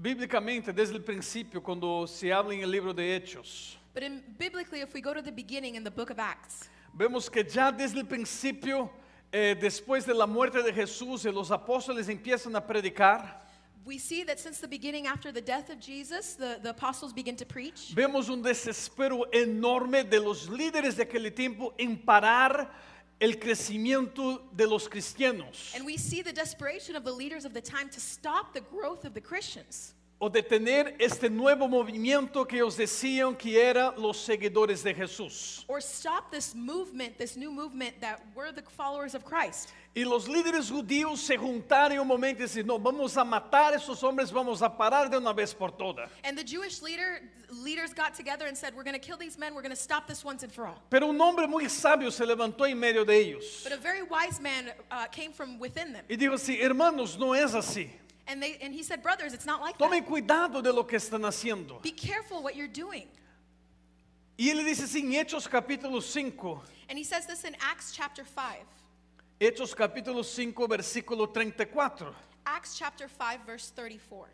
bíblicamente, desde el principio, cuando se habla en el libro de Hechos, But biblically, if we go to the beginning in the book of Acts, vemos que ya desde el principio, después de la muerte de Jesús, los apóstoles empiezan a predicar. we see that since the beginning, after the death of Jesus, the apostles begin to preach. Vemos un desespero enorme de los líderes de aquel tiempo en parar el crecimiento de los cristianos And we see the desperation of the leaders of the time to stop the growth of the Christians, o detener este nuevo movimiento que ellos decían que era los seguidores de Jesús. or stop this movement, this new movement that were the followers of Christ. Y los líderes judíos se juntaron en un momento y decían, no, vamos a matar a esos hombres, vamos a parar de una vez por todas. And the Jewish leaders got together and said, we're going to kill these men, we're going to stop this once and for all. Pero un hombre muy sabio se levantó en medio de ellos But a very wise man came from within them. y dijo así, hermanos, no es así. And he said, brothers, it's not like that. Tomen cuidado de lo que están haciendo. Be careful what you're doing. Y él dice así en Hechos capítulo 5, And he says this in Acts chapter 5. Hechos capítulo 5, versículo 34. Acts chapter 5, verse 34.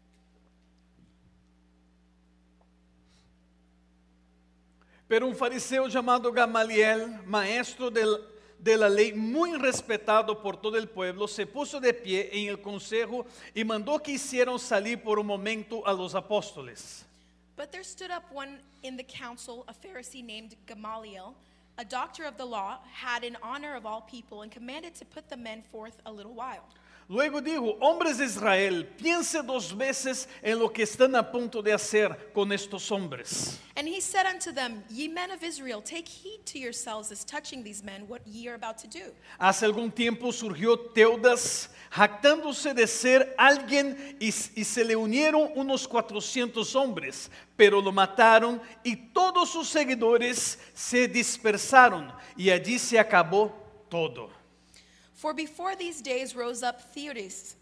Pero un fariseo llamado Gamaliel, maestro de la ley, muy respetado por todo el pueblo, se puso de pie en el consejo y mandó que hicieran salir por un momento a los apóstoles. But there stood up one in the council, a Pharisee named Gamaliel, a doctor of the law, had in honor of all people, and commanded to put the men forth a little while. Luego dijo, hombres de Israel, piense dos veces en lo que están a punto de hacer con estos hombres. And he said unto them, Ye men of Israel, take heed to yourselves as touching these men, what ye are about to do. Hace algún tiempo surgió Teudas, jactándose de ser alguien, y se le unieron unos 400 hombres, pero lo mataron y todos sus seguidores se dispersaron y allí se acabó todo. For before these days rose up Theudas,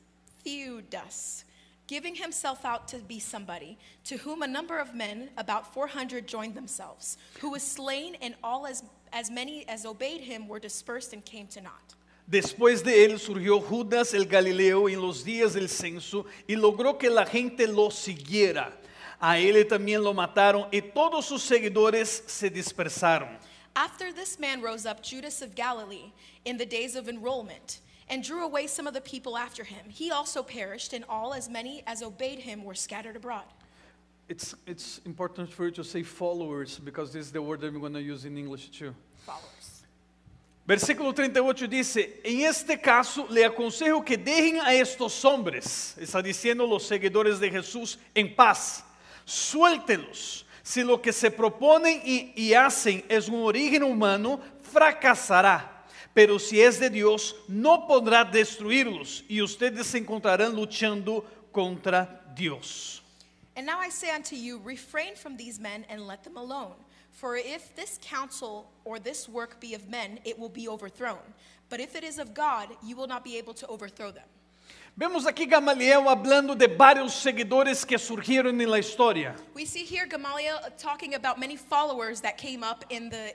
giving himself out to be somebody, to whom a number of men, about 400, joined themselves, who was slain, and all as many as obeyed him were dispersed and came to naught. Después de él surgió Judas el Galileo en los días del censo y logró que la gente lo siguiera. A él también lo mataron y todos sus seguidores se dispersaron. After this man rose up Judas of Galilee in the days of enrollment, and drew away some of the people after him. He also perished, and all as many as obeyed him were scattered abroad. It's important for you to say followers, because this is the word that I'm going to use in English too. Followers. Versículo 38 dice, en este caso le aconsejo que dejen a estos hombres, está diciendo los seguidores de Jesús, en paz. Suéltelos. Si lo que se proponen y hacen es un origen humano, fracasará. Pero si es de Dios, no podrá destruirlos y ustedes se encontrarán luchando contra Dios. And now I say unto you, refrain from these men and let them alone. For if this counsel or this work be of men, it will be overthrown. But if it is of God, you will not be able to overthrow them. Vemos aquí Gamaliel hablando de varios seguidores que surgieron en la historia. We see here Gamaliel talking about many followers that came up in the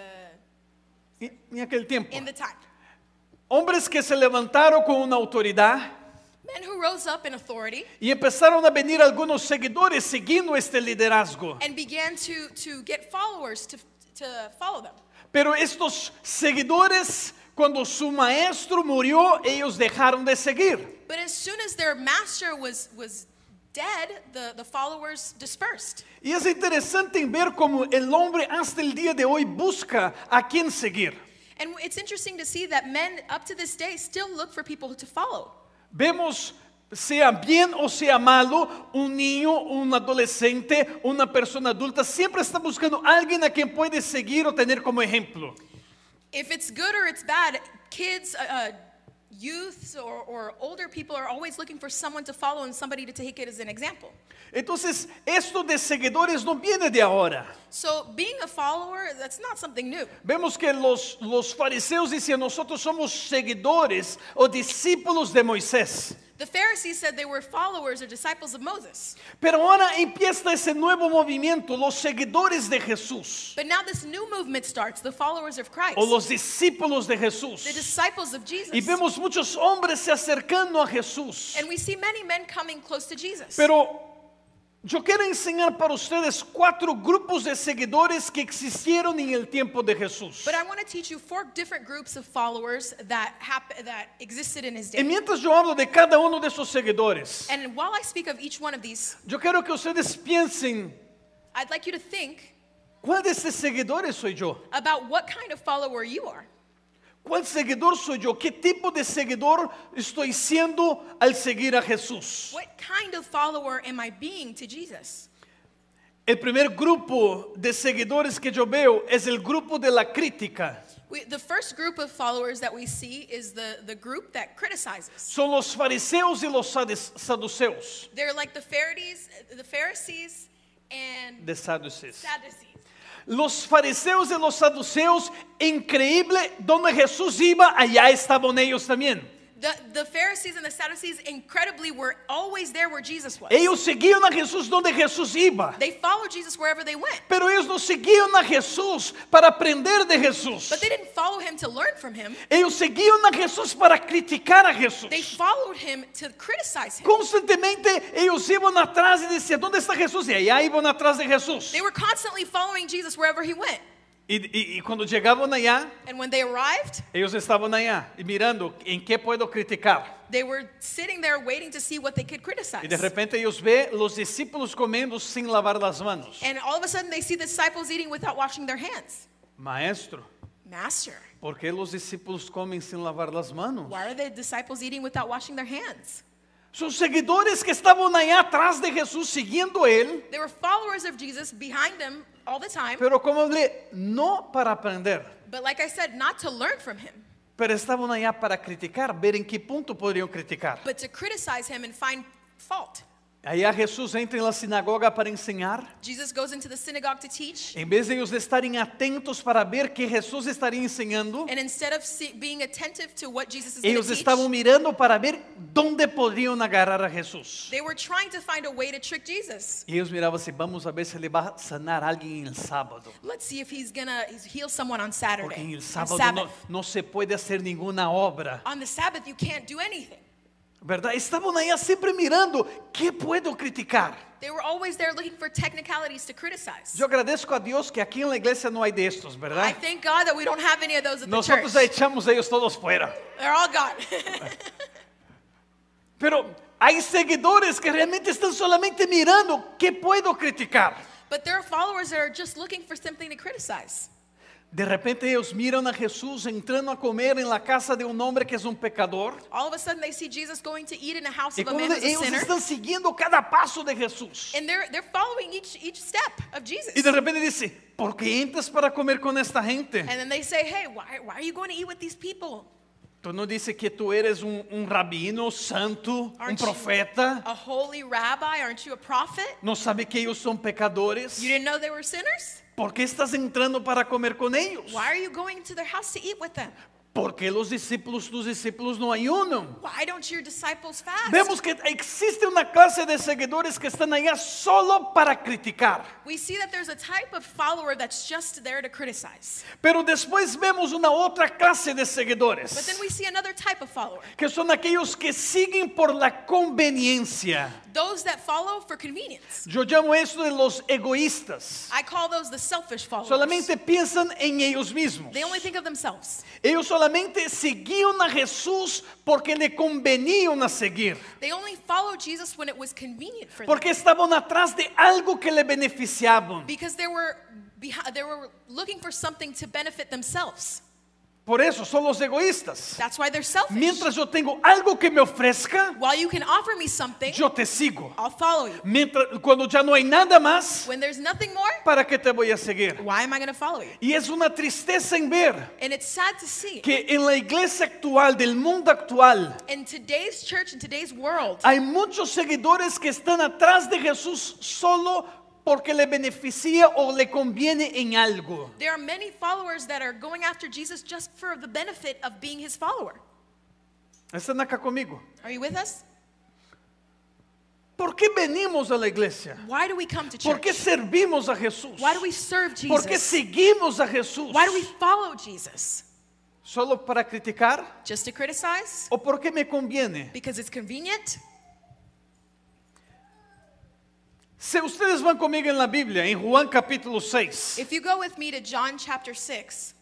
En aquel tiempo. time. Hombres que se levantaron con una autoridad Men who rose up in authority y empezaron a venir algunos seguidores siguiendo este liderazgo. and began to get followers to follow them. Pero estos seguidores, cuando su maestro murió, ellos dejaron de seguir. But as soon as their master was dead, the followers dispersed. Y es interesante ver cómo el hombre hasta el día de hoy busca a quién seguir. And it's interesting to see that men up to this day still look for people to follow. Vemos, sea bien o sea malo, un niño, un adolescente, una persona adulta, siempre está buscando a alguien a quien puede seguir o tener como ejemplo. If it's good or it's bad, kids, youths or older people are always looking for someone to follow and somebody to take it as an example. Entonces, esto de seguidores no viene de ahora. So being a follower, that's not something new. Vemos que los fariseos dicen, nosotros somos seguidores o discípulos de Moisés. The Pharisees said they were followers or disciples of Moses. Pero ahora empieza ese nuevo movimiento, los seguidores de Jesús, But now this new movement starts, the followers of Christ, o los discípulos de the Jesús. disciples of Jesus. Y vemos muchos hombres se acercando a Jesús. And we see many men coming close to Jesus. Pero yo quiero enseñar para ustedes 4 grupos de seguidores que existieron en el tiempo de Jesús. But I want to teach you 4 different groups of followers that existed in his Y day. mientras yo hablo de cada uno de esos seguidores, And while I speak of each one of these, yo quiero que ustedes piensen, I'd like you to think ¿cuál de estos seguidores soy yo? about what kind of follower you are. ¿Cuál seguidor soy yo? ¿Qué tipo de seguidor estoy siendo al seguir a Jesús? What kind of follower am I being to Jesus? El primer grupo de seguidores que yo veo es el grupo de la crítica. The first group of followers that we see is the group that criticizes. Son los fariseos y los saduceos. They're like the Pharisees and De Sadducees. Sadducees. Los fariseos y los saduceos, increíble, donde Jesús iba, allá estaban ellos también. The Pharisees and the Sadducees incredibly were always there where Jesus was. Ellos seguían a Jesús donde Jesús iba. They followed Jesus wherever they went. Pero ellos no seguían a Jesús para aprender de Jesús. But they didn't follow him to learn from him. Ellos seguían a Jesús para criticar a Jesús. They followed him to criticize him. Constantemente ellos iban atrás y decían, ¿dónde está Jesús? Y allá iban atrás de Jesús. They were constantly following Jesus wherever he went. Y cuando llegaban allá, And when they arrived, ellos estaban allá y mirando en qué puedo criticar. they were sitting there waiting to see what they could criticize. Y de repente ellos ven los discípulos comiendo sin lavar las manos. And all of a sudden they see the disciples eating without washing their hands. Maestro, Master, ¿por qué los discípulos comen sin lavar las manos? why are the disciples eating without washing their hands? Sus seguidores que estaban allá atrás de Jesús siguiendo a él, They were followers of Jesus behind him all the time. pero como hablé, no para aprender, But like I said, not to learn from him, pero estaban allá para criticar, ver en qué punto podrían criticar. but to criticize him and find fault. Allá Jesús entra en la sinagoga para enseñar. Jesus goes into the synagogue to teach. En vez de ellos estarem atentos para ver que Jesús estaria enseñando, And instead of being attentive to what Jesus is ellos going to estavam teach, mirando para ver dónde poderiam agarrar a Jesús. they were trying to find a way to trick Jesus. E ellos miravam assim, vamos a ver se ele vai sanar alguém el sábado. Let's see if he's gonna heal someone on Porque Saturday. en el On sábado Sabbath. no se puede hacer ninguna obra. On the Sabbath, you can't do anything. ¿Verdad? Estavam aí sempre mirando, ¿qué puedo criticar? They were always there looking for technicalities to criticize. Eu agradeço a Deus que aqui na igreja não há destes, I ¿verdad? thank God that we don't have any of those at the Nosotros church. já echamos ellos todos fuera. They're all gone. Pero hay seguidores que realmente están solamente mirando, ¿qué puedo criticar? But there are followers that are just looking for something to criticize. De repente ellos miran a Jesús entrando a comer en la casa de un hombre que es un pecador. All of a sudden, they see Jesus going to eat in the house Y of a man cuando who's a ellos sinner. están siguiendo cada paso de Jesús. And they're following each step of Jesus. Y de repente dice, ¿por qué entras para comer con esta gente? And then they say, hey, why are you going to eat with these people? Tú no dices que tú eres un rabino santo, un Aren't you profeta. a holy rabbi? Aren't you a prophet? No sabe que ellos son pecadores. You didn't know they were sinners? ¿Por qué estás entrando para comer con ellos? Why are you going to their house to eat with them? ¿Por qué tus discípulos no ayunan? Why don't your disciples fast? Vemos que existe una clase de seguidores que están allá solo para criticar. We see that there's a type of follower that's just there to criticize. Pero después vemos una otra clase de But seguidores, then we see another type of follower. que son aquellos que siguen por la conveniencia. Those that follow for convenience. Yo llamo eso de los egoístas. I call those the selfish followers. Solamente piensan en ellos mismos. They only think of themselves. Ellos solamente seguían a Jesús porque le convenían a seguir. They only followed Jesus when it was convenient for them. Porque estaban atrás de algo que le beneficiaban. Because they were looking for something to benefit themselves. Por eso son los egoístas. That's why they're selfish. Mientras yo tengo algo que me ofrezca, While you can offer me something, yo te sigo. I'll follow you. Cuando ya no hay nada más, When there's nothing more, ¿para qué te voy a seguir? why am I going to follow you? Y es una tristeza en ver And it's sad to see. que en la iglesia actual, del mundo actual, In today's church, in today's world, hay muchos seguidores que están atrás de Jesús solo porque le beneficia o le conviene en algo. there are many followers that are going after Jesus just for the benefit of being his follower. ¿Están acá conmigo? Are you with us? ¿Por qué venimos a la iglesia? Why do we come to ¿Por qué church? servimos a Jesús? Why do we serve ¿Por qué Jesus? seguimos a Jesús? Why do we follow Jesus? ¿Solo para criticar? Just to criticize? ¿O porque me conviene? Because it's convenient? Si ustedes van conmigo en la Biblia, en Juan capítulo 6, If you go with me to John chapter 6,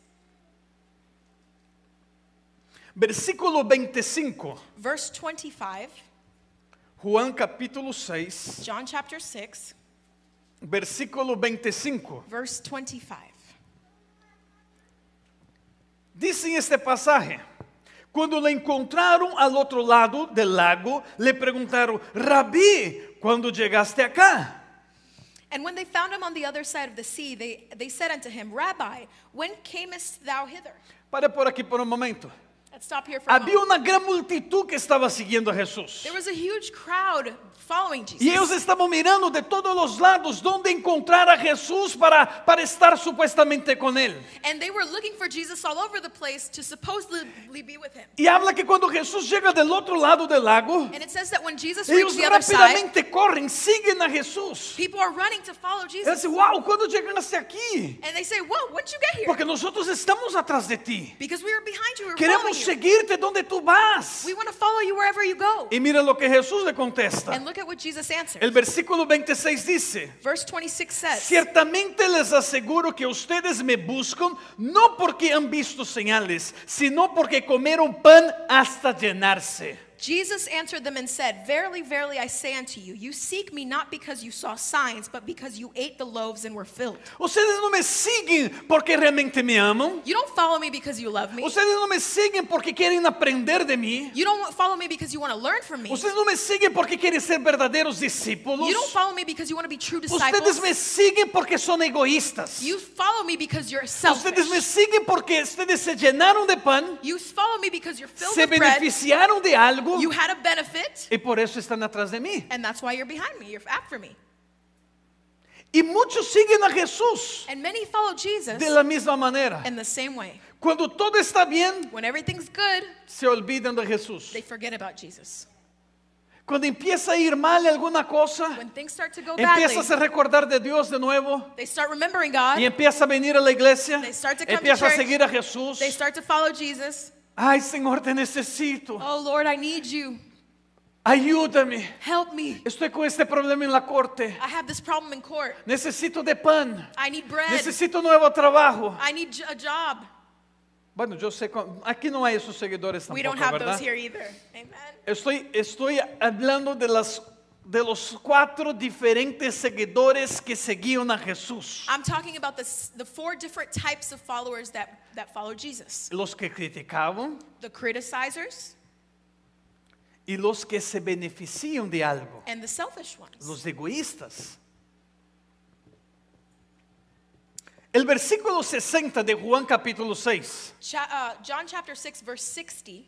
versículo 25. verse 25, Juan capítulo 6, John chapter 6, versículo 25. verse 25. Dice en este pasaje, cuando le encontraron al otro lado del lago, le preguntaron, Rabí, ¿cuándo llegaste acá? And when they found him on the other side of the sea, they said unto him, Rabbi, when camest thou hither? Para por aquí por un momento. Let's stop here for a Había moment. una gran multitud que estaba siguiendo a Jesús. There was a huge crowd following Y ellos Jesus. estaban mirando de todos los lados dónde encontrar a Jesús para estar supuestamente con él. And they were looking for Jesus all over the place to supposedly be with him. Y habla que cuando Jesús llega del otro lado del lago, And it says that when Jesus ellos reached the other side, rápidamente corren, siguen a Jesús. people are running to follow Él Jesus. dice, wow, ¿cuándo llegaste aquí? And they say, whoa, when'd you get here? Porque nosotros estamos atrás de ti. Because we were behind you, we were Queremos following you. seguirte donde tú vas. We want to follow you wherever you go. Y mira lo que Jesús le contesta. And look at what Jesus answered. El versículo 26 dice, Verse 26 says, ciertamente les aseguro que ustedes me buscan no porque han visto señales, sino porque comieron pan hasta llenarse. Jesus answered them and said, Verily, verily, I say unto you, you seek me not because you saw signs, but because you ate the loaves and were filled. Ustedes no me siguen porque realmente me aman. You don't follow me because you love me. Ustedes no me siguen porque quieren aprender de mí. You don't follow me because you want to learn from me. Ustedes no me siguen porque quieren ser verdaderos discípulos. You don't follow me because you want to be true disciples. Ustedes me siguen porque son egoístas. You follow me because you're Ustedes me selfish. siguen porque ustedes se llenaron de pan, You follow me because you're filled se with bread. beneficiaron de algo You had a benefit, y por eso están atrás de mí. and that's why you're behind me. You're after me. Y muchos siguen a Jesús And many follow Jesus de la misma manera. in the same way. Cuando todo está bien, When everything's good, se olvidan de Jesús. they forget about Jesus. Cuando empieza a ir mal alguna cosa, When things start to go badly, empiezas a recordar de Dios de nuevo they start remembering God. y empieza a venir a la iglesia, They start to come to empieza a church. seguir a Jesús. They start to follow Jesus. Ay, Señor, te necesito. Oh Lord, I need you. Ayúdame. Help me. Estoy con este problema en la corte. I have this problem in court. Necesito de pan. I need bread. Necesito nuevo trabajo. I need a job. Bueno, yo sé, aquí no hay esos seguidores We don't tampoco, have ¿verdad? those here either. Amen. Estoy hablando de los 4 diferentes seguidores que seguían a Jesús. I'm talking about the 4 different types of followers that follow Jesus. Los que criticaban The criticizers y los que se benefician de algo. and the selfish ones. Los egoístas. El versículo 60 de Juan capítulo 6. John chapter 6 verse 60.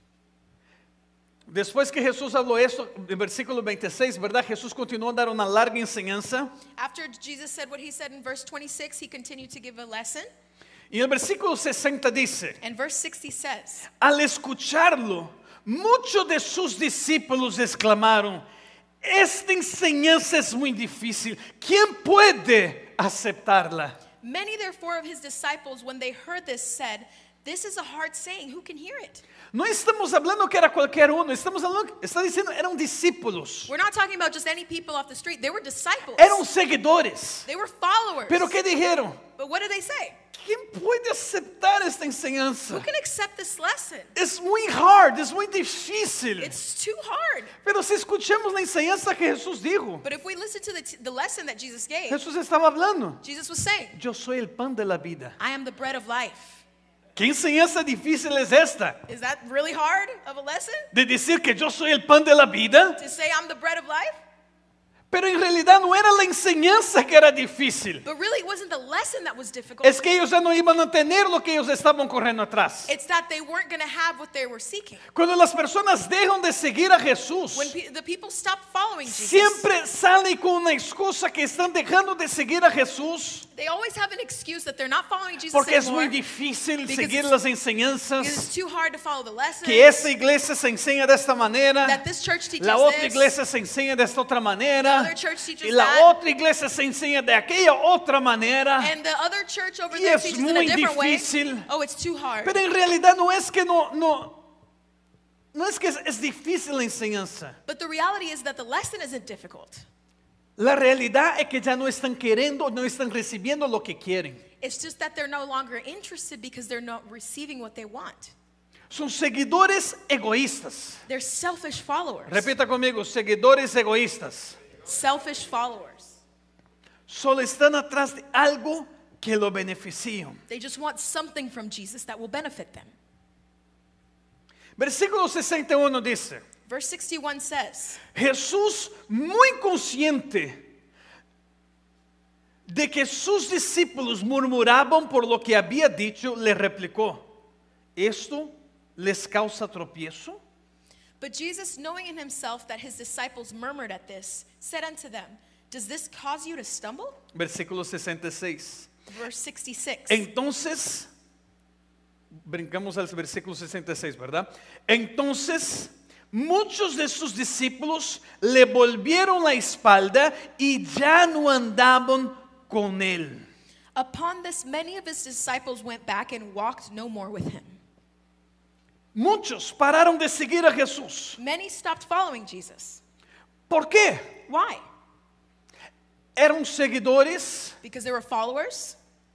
Después que Jesús habló esto, en versículo 26, ¿verdad? Jesús continuó a dar una larga enseñanza. After Jesus said what he said in verse 26, he continued to give a lesson. Y el versículo 60 dice, And verse 60 says, al escucharlo, muchos de sus discípulos exclamaron, esta enseñanza es muy difícil, ¿quién puede aceptarla? Many therefore of his disciples, when they heard this, said, This is a hard saying, who can hear it? No estamos hablando que era cualquier uno, estamos hablando, está diciendo, eran discípulos, We're not talking about just any people off the street. They were disciples. eran seguidores. They were followers. Pero ¿qué dijeron? But what did they say? ¿Quién puede aceptar esta enseñanza? Who can accept this lesson? Es muy hard, es muy difícil. It's too hard. Pero si escuchamos la enseñanza que Jesús dijo, But if we listen to the lesson that Jesus gave, Jesús estaba hablando, Jesus was saying, yo soy el pan de la vida. I am the bread of life. ¿Qué enseñanza difícil es esta? Is that really hard of a lesson? De decir que yo soy el pan de la vida. To say I'm the bread of life? Pero en realidad no era la enseñanza que era difícil. But really, it wasn't the lesson that was difficult. Es que ellos ya no iban a tener lo que ellos estaban corriendo atrás. It's that they weren't going to have what they were seeking. Cuando las personas dejan de seguir a Jesús, When the people stopped following Jesus, siempre salen con una excusa que están dejando de seguir a Jesús They always have an excuse that they're not following Jesus porque es anymore muy difícil because seguir it's- las because enseñanzas, it's too hard to follow the lessons. que esta iglesia se enseña de esta manera, That this church teaches la otra this. iglesia se enseña de esta otra The manera, other church teaches y la that. otra iglesia se enseña de aquella otra manera. And the other church over Y there es teaches in a muy different difícil. way. Oh, it's too hard. Pero en realidad no es que no es que es difícil la enseñanza. But the reality is that the lesson isn't difficult. La realidad es que ya no están queriendo, no están recibiendo lo que quieren. It's just that they're no longer interested because they're not receiving what they want. Son seguidores egoístas. They're selfish followers. Repita conmigo, seguidores egoístas. Selfish followers. Solo están atrás de algo que lo beneficie. They just want something from Jesus that will benefit them. Versículo 61 dice, Verse 61 says, Jesús, muy consciente de que sus discípulos murmuraban por lo que había dicho, le replicó, ¿esto les causa tropiezo? But Jesus, knowing in himself that his disciples murmured at this, said unto them, does this cause you to stumble? Versículo 66. Verse 66. Entonces, brincamos al versículo 66, ¿verdad? Entonces, muchos de sus discípulos le volvieron la espalda y ya no andaban con él. Upon this, many of his disciples went back and walked no more with him. Muchos pararon de seguir a Jesús. Many stopped following Jesus. ¿Por qué? Why? Eran seguidores Because they were followers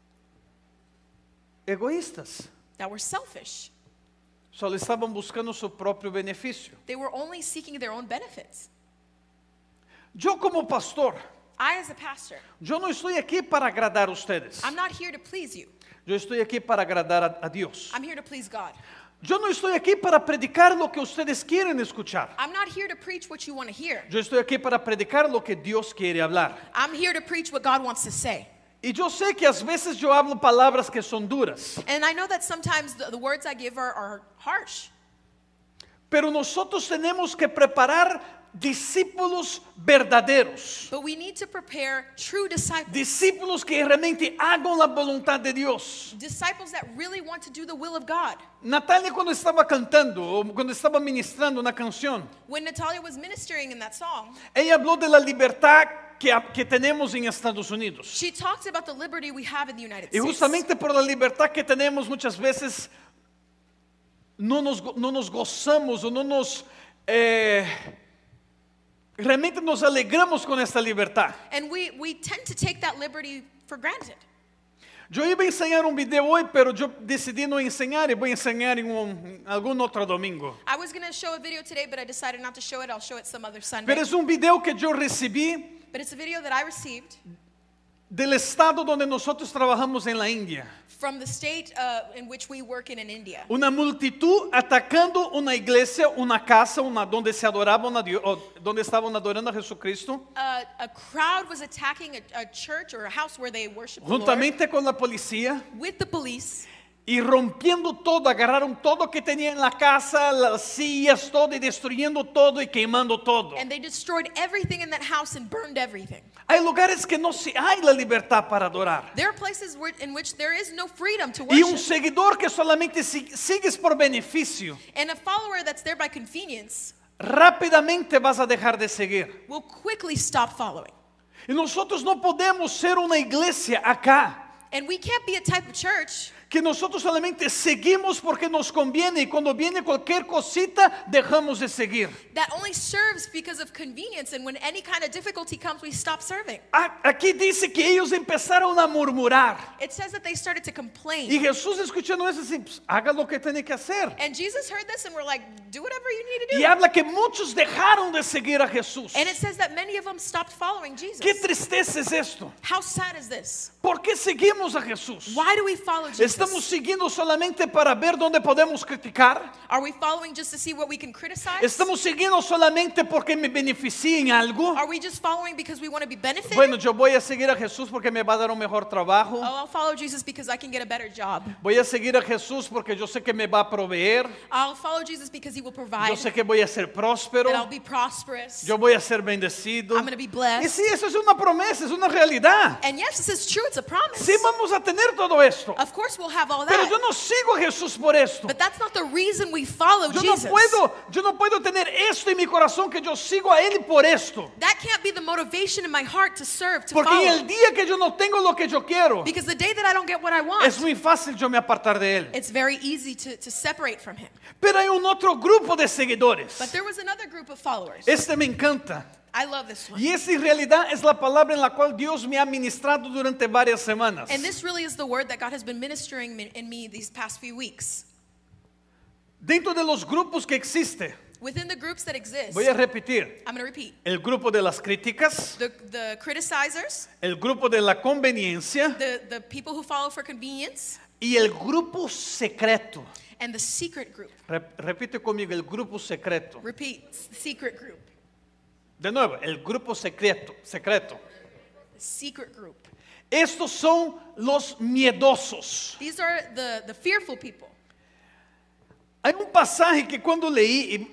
egoístas. that were selfish. Solo estaban buscando su propio beneficio. They were only seeking their own benefits. Yo como pastor, I, as a pastor, yo no estoy aquí para agradar a ustedes. I'm not here to please you. Yo estoy aquí para agradar a Dios. I'm here to please God. Yo no estoy aquí para predicar lo que ustedes quieren escuchar. I'm not here to preach what you want to hear. Yo estoy aquí para predicar lo que Dios quiere hablar. I'm here to preach what God wants to say. Y yo sé que a veces yo hablo palabras que son duras, And I know that sometimes the words I give are harsh. pero nosotros tenemos que preparar discípulos verdaderos. But we need to prepare true disciples. Discípulos que realmente hagan la voluntad de Dios. Disciples that really want to do the will of God. Natalia cuando estaba cantando o cuando estaba ministrando una canción, When Natalia was ministering in that song, ella habló de la libertad que tenemos en Estados Unidos. she talked about the liberty we have in the United Y States. justamente por la libertad que tenemos muchas veces no nos gozamos o no nos realmente nos alegramos con esta libertad. And we tend to take that liberty for granted. Yo iba a enseñar un video hoy, pero yo decidí no enseñar y voy a enseñar en algún otro domingo. I was going to show a video today, but I decided not to show it. I'll show it some other Sunday. Pero es un video que yo recibí But it's a video that I received del estado donde nosotros trabajamos en la India. from the state in which we work in India. Una multitud atacando una iglesia, una casa, donde se adoraban a Dios, o donde estaban adorando a Jesucristo, A crowd was attacking a church or a house where they worship the Lord juntamente con la policía. with the police. Y rompiendo todo, agarraron todo que tenía en la casa, las sillas, todo, y destruyendo todo y quemando todo. And they destroyed everything in that house and burned everything. Hay lugares que no hay la libertad para adorar. There are places in which there is no freedom to Y un worship. seguidor que solamente sigues por beneficio, And a follower that's there by convenience rápidamente vas a dejar de seguir. will quickly stop following. Y nosotros no podemos ser una iglesia acá, And we can't be a type of church que nosotros solamente seguimos porque nos conviene y cuando viene cualquier cosita dejamos de seguir. that only serves because of convenience, and when any kind of difficulty comes, we stop serving. Aquí dice que ellos empezaron a murmurar. It says that they started to Y complain. Jesús escuchando eso dice, pues, haga lo que tiene que hacer. And Jesus heard this and we're like, do whatever you need to Y do. habla que muchos dejaron de seguir a Jesús. And it says that many of them stopped following Jesus. Qué tristeza es esto. How sad is this? ¿Por qué seguimos a Jesús? Why do we follow Jesus? ¿Estamos siguiendo solamente para ver dónde podemos criticar? Are we following just to see what we can criticize? ¿Estamos siguiendo solamente porque me beneficie en algo? Are we just following because we want to be benefited? Bueno, yo voy a seguir a Jesús porque me va a dar un mejor trabajo. Oh, I'll follow Jesus because I can get a better job. Voy a seguir a Jesús porque yo sé que me va a proveer. I'll follow Jesus because he will provide. Yo sé que voy a ser próspero. That I'll be prosperous. Yo voy a ser bendecido. I'm going to be blessed. Y sí, eso es una promesa, es una realidad. And yes, this is true. It's a promise. Sí, vamos a tener todo esto. Of course, we'll have all Pero that. yo no sigo a Jesús por esto. But that's not the reason we follow Yo Jesus. no puedo tener esto en mi corazón que yo sigo a Él por esto. That can't be the motivation in my heart to serve, to Porque follow. en el día que yo no tengo lo que yo quiero, Because the day that I don't get what I want, es muy fácil yo me apartar de Él. it's very easy to separate from him. Pero hay un otro grupo de seguidores. But there was another group of followers. Este me encanta. I love this one. Y esa en realidad es la palabra en la cual Dios me ha ministrado durante varias semanas. And this really is the word that God has been ministering in me these past few weeks. Dentro de los grupos que existe, Within the groups that exist, voy a repetir, I'm going to repeat. el grupo de las críticas, The criticizers, el grupo de la conveniencia the people who follow for convenience, y el grupo secreto. and the secret group. Repite conmigo, el grupo secreto. Repeat, secret group. De nuevo, el grupo secreto. The secret group. Estos son los miedosos. These are the fearful people. Hay un pasaje que cuando leí,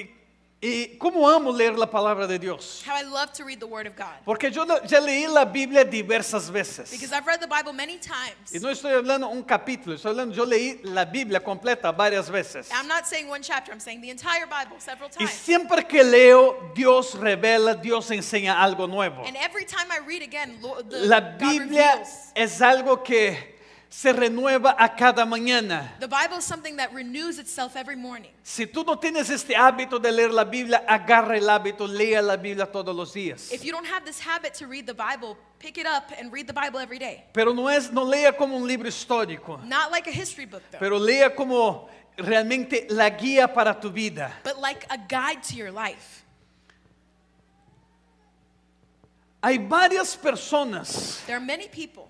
y cómo amo leer la palabra de Dios. How I love to read the word of God. Porque yo ya leí la Biblia diversas veces. Because I've read the Bible many times. Y no estoy hablando un capítulo, yo leí la Biblia completa varias veces. I'm not saying one chapter, I'm saying the entire Bible several Y times. siempre que leo, Dios revela, Dios enseña algo nuevo. And every time I read again, La God Biblia reveals. es algo que se renueva a cada mañana. The Bible is something that renews itself every morning. Si tú no tienes este hábito de leer la Biblia, agarra el hábito, lea la Biblia todos los días. If you don't have this habit to read the Bible, pick it up and read the Bible every day. Pero no lea como un libro histórico, Not like a history book though, pero lea como realmente la guía para tu vida. but like a guide to your life. Hay varias personas There are many people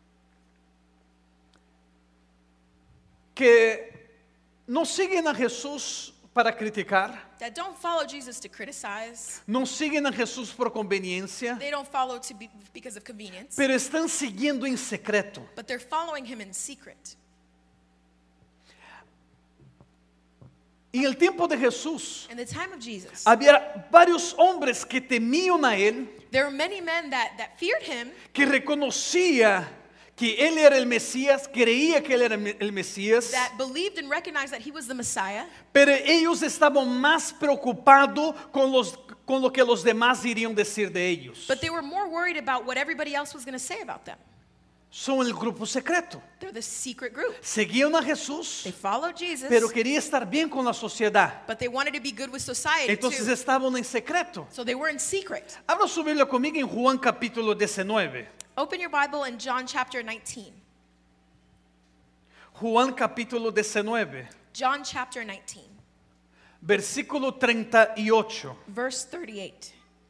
que no siguen a Jesús para criticar, that don't follow Jesus to criticize. no siguen a Jesús por conveniencia, They don't follow because of convenience, pero están siguiendo en secreto. but they're following him in secret. En el tiempo de Jesús, In the time of Jesus, había varios hombres que temían a Él, there were many men that feared him, que reconocía que Él era el Mesías, creía que Él era el Mesías, that believed and recognized that he was the Messiah, pero ellos estaban más preocupados con lo que los demás irían decir de ellos. but they were more worried about what everybody else was going to say about them. Son el grupo secreto. They're the secret group. Seguían a Jesús, They followed Jesus, pero quería estar bien con la sociedad. but they wanted to be good with society Entonces too. estaban en secreto. So they were in secret. Abra su Biblia conmigo en Juan capítulo 19. Open your Bible in John chapter 19. Juan capítulo 19, John chapter 19, versículo 38. verse 38.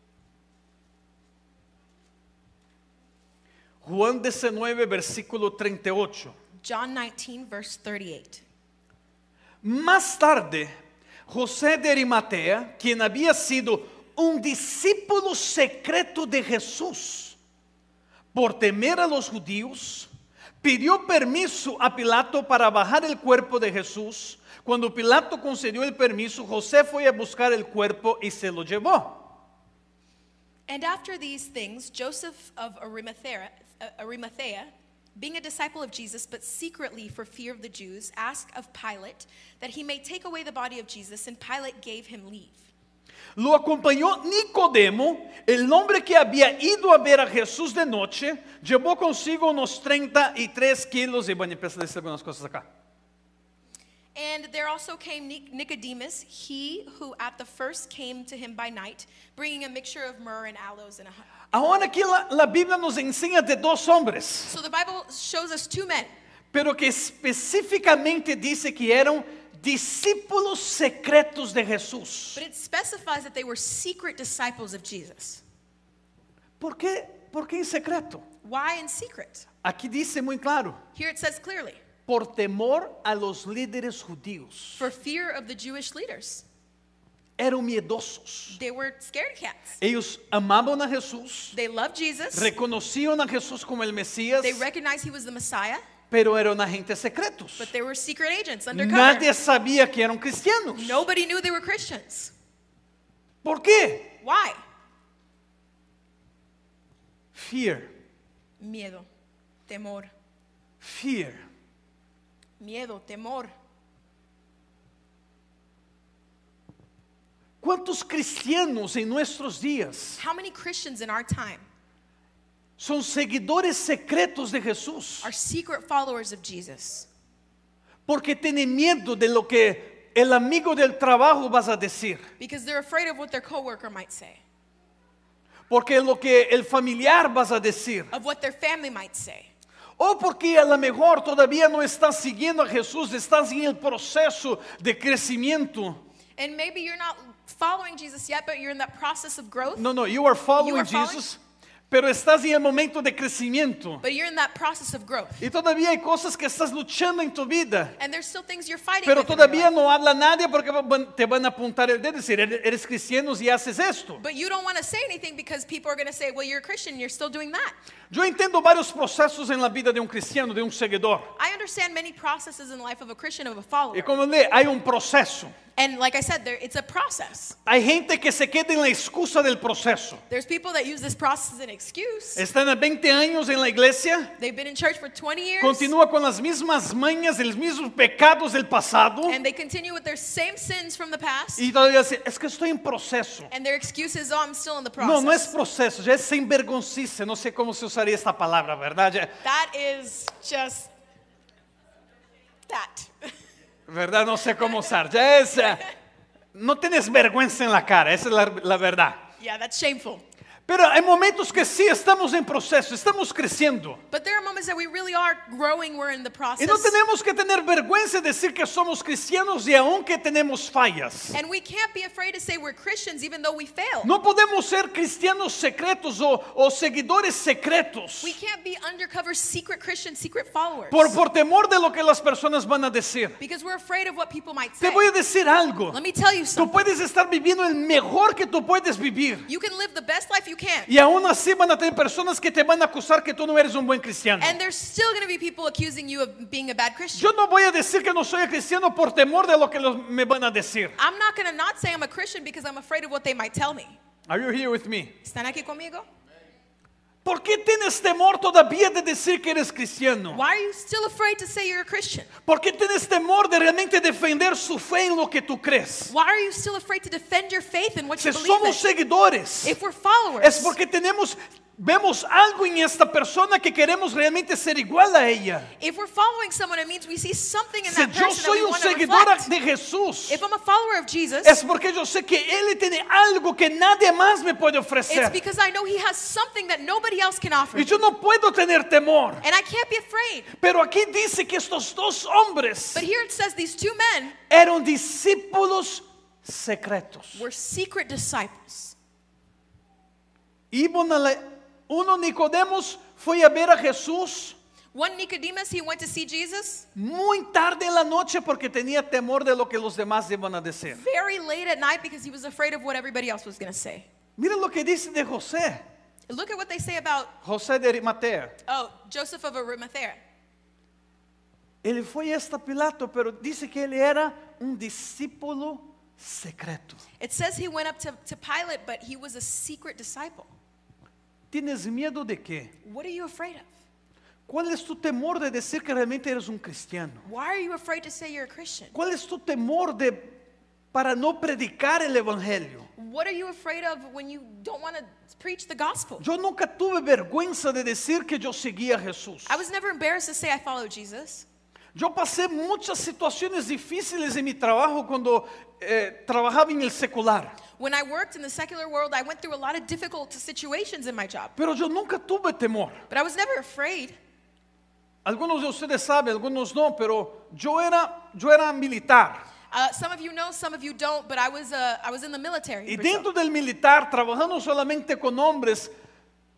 Juan 19, versículo 38. John 19, verse 38. Más tarde, José de Arimatea, quien había sido un discípulo secreto de Jesús, por temer a los judíos, pidió permiso a Pilato para bajar el cuerpo de Jesús. Cuando Pilato concedió el permiso, José fue a buscar el cuerpo y se lo llevó. And after these things, Joseph of Arimathea, being a disciple of Jesus, but secretly for fear of the Jews, asked of Pilate that he may take away the body of Jesus, and Pilate gave him leave. Lo acompañó Nicodemo, el hombre que había ido a ver a Jesús de noche, llevó consigo unos 33 kilos, y bueno, empiezo a decir algunas cosas acá. And there also came Nicodemus, he who at the first came to him by night, bringing a mixture of myrrh and aloes in a honey. Ahora aquí la Biblia nos enseña de dos hombres, So the Bible shows us two men, pero que específicamente dice que eran discípulos secretos de Jesús. but it specifies that they were secret disciples of Jesus. ¿Por qué? ¿Por qué en secreto? Why in secret? Aquí dice muy claro, Here it says clearly, por temor a los líderes judíos. for fear of the Jewish leaders. Eran miedosos. They were scared cats. Ellos amaban a Jesús, They loved Jesus. reconocían a Jesús como el Mesías, They recognized he was the Messiah, pero eran agentes secretos. but they were secret agents undercover. Nadie sabía que eran cristianos. Nobody knew they were Christians. ¿Por qué? Why? Fear, Miedo, temor, fear. miedo, temor. ¿Cuántos cristianos en nuestros días How many Christians in our time son seguidores secretos de Jesús? are secret followers of Jesus? Porque tienen miedo de lo que el amigo del trabajo vas a decir. Because they're afraid of what their coworker might say, Porque lo que el familiar vas a decir. of what their family might say. O porque a lo mejor todavía no estás siguiendo a Jesús, estás en el proceso de crecimiento. And maybe you're not following Jesus yet, but you're in that process of growth. No, you are following You are following? Jesus, pero estás en el momento de crecimiento. But you're in that process of growth. Y todavía hay cosas que estás luchando en tu vida. And there's still things you're fighting Pero with in your todavía life. no habla nadie porque te van a apuntar el dedo y decir, eres cristiano y haces esto. But you don't want to say anything because people are going to say, well, you're a Christian, you're still doing that. Yo entiendo varios procesos en la vida de un cristiano, de un seguidor. I understand many processes in the life of a Christian, of a follower. Y como le, hay un proceso. And like I said, it's a process. Hay gente que se queda en la excusa del proceso. There's people that use this process as an excuse. Están a 20 años en la iglesia, They've been in church for 20 years. continúa con las mismas mañas, los mismos pecados del pasado. And they continue with their same sins from the past. Y todavía dice, es que estoy en proceso. And their excuse is, oh, I'm still in the No, no es process. proceso, ya es sinvergonzice. No sé cómo se usaría esta palabra, ¿verdad? That is just that. ¿Verdad? No sé cómo usar. Ya es, no tienes vergüenza en la cara, esa es la verdad. Yeah, that's shameful. Pero hay momentos que sí estamos en proceso, estamos creciendo. But there are moments that we really are growing, we're in the Y process. no tenemos que tener vergüenza de decir que somos cristianos y aunque tenemos fallas. And we can't be afraid to say we're Christians even though we fail. No podemos ser cristianos secretos o seguidores secretos We can't be undercover secret Christians, secret followers. por temor de lo que las personas van a decir. Because we're afraid of what people might Te say. voy a decir algo. Let me tell you Tú something. puedes estar viviendo el mejor que tú puedes vivir. You can live the best life you can. Y aún así van a tener personas que te van a acusar que tú no eres un buen cristiano. And there's still going to be people accusing you of being a bad Christian. Yo no voy a decir que no soy cristiano por temor de lo que me van a decir. I'm not going to not say I'm a Christian because I'm afraid of what they might tell me. Are you here with me? ¿Están aquí conmigo? ¿Por qué tienes temor todavía de decir que eres cristiano? Why are you still afraid to say you're a Christian? ¿Por qué tienes temor de realmente defender su fe en lo que tú crees? Why are you still afraid to defend your faith in what Si you believe somos in? seguidores, If we're followers, es porque vemos algo en esta persona que queremos realmente ser igual a ella. if we're following someone, it means we see something in Si that yo person that soy we un want to seguidor reflect. de Jesús, If I'm a follower of Jesus, es porque yo sé que Él tiene algo que nadie más me puede it's ofrecer. because I know he has something that nobody else can offer. Y yo no puedo tener temor. And I can't be afraid. Pero aquí dice que estos dos hombres But here it says these two men eran discípulos secretos. were secret disciples. Uno Nicodemos fue a ver a Jesús One Nicodemus, he went to see Jesus muy tarde en la noche porque tenía temor de lo que los demás iban a decir. very late at night because he was afraid of what everybody else was going to say. Miren lo que dice de José, Look at what they say about, José de Arimatea. Joseph of Arimathea. Él fue hasta Pilato, pero dice que él era un discípulo secreto. It says he went up to Pilate, but he was a secret disciple. ¿Tienes miedo de qué? What are you afraid of? ¿Cuál es tu temor de decir que realmente eres un cristiano? Why are you afraid to say you're a Christian? ¿Cuál es tu temor para no predicar el evangelio? What are you afraid of when you don't want to preach the gospel? Yo nunca tuve vergüenza de decir que yo seguía a Jesús. I was never embarrassed to say I follow Jesus. Yo pasé muchas situaciones difíciles en mi trabajo cuando trabajaba en el secular. When I worked in the secular world, I went through a lot of difficult situations in my job. Pero yo nunca tuve temor. But I was never afraid. Algunos de ustedes saben, algunos no, pero yo era militar. Some of you know, some of you don't, but I was in the military. Y in Brazil. dentro del militar, trabajando solamente con hombres,